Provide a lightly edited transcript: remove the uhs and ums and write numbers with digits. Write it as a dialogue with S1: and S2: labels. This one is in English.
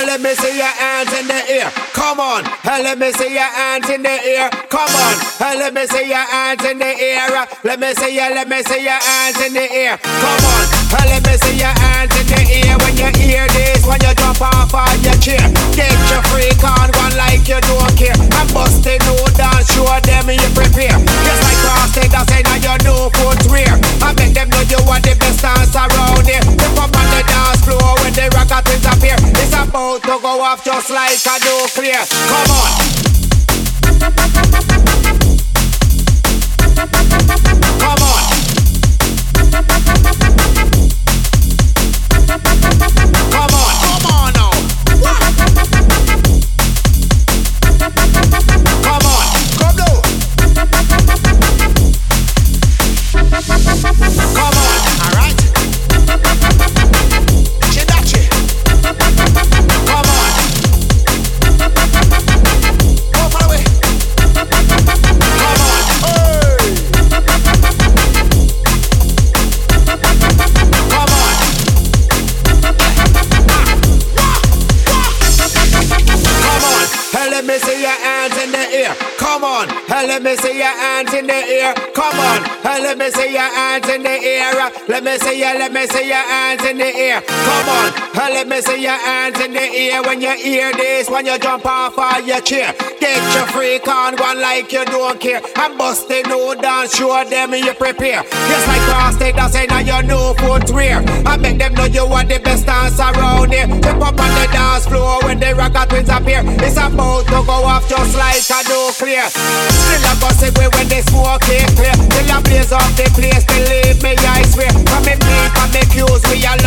S1: and let me see your hands in the air. Come on, and let me see your hands in the air. Come on, and let me see your hands in the air. Let me see your hands in the air. Come on, and let me see your hands in the air. When you hear this, when you jump off on your chair, get your freak on, one like you don't care. I'm busting no dance, show them you prepare. Just like cross take that say now you know footwear. I make them know you are the best dance around here. Step up on the dance floor when the rocket twins appear. It's about to go off just like a nuclear. Come on. Come on. Come on. Come on now. Come on. Come down. Come on. All right. Chidachi. Come on. Go far away. Come on. Hey. Come on. Come on. Hey, let me see your hands in the air. Come on. Hey, let me see your hands in the air. Come on. Hey, let me see your hands in the air. Let me see your hands in the air. Come on. Hey, let me see your hands in the air. When you hear this, when you jump off of your chair, get your freak on, one like you don't care. I'm busting no dance, show them you prepare. Just like cross take that say now you know footwear. I make them know you are the best dance around here. Step up on the dance floor when the rocket twins appear. It's about to go off just like a nuclear. Still a gossip when they smoke it clear. Till I blaze up the place, believe me I swear. From me bleep and me cues we all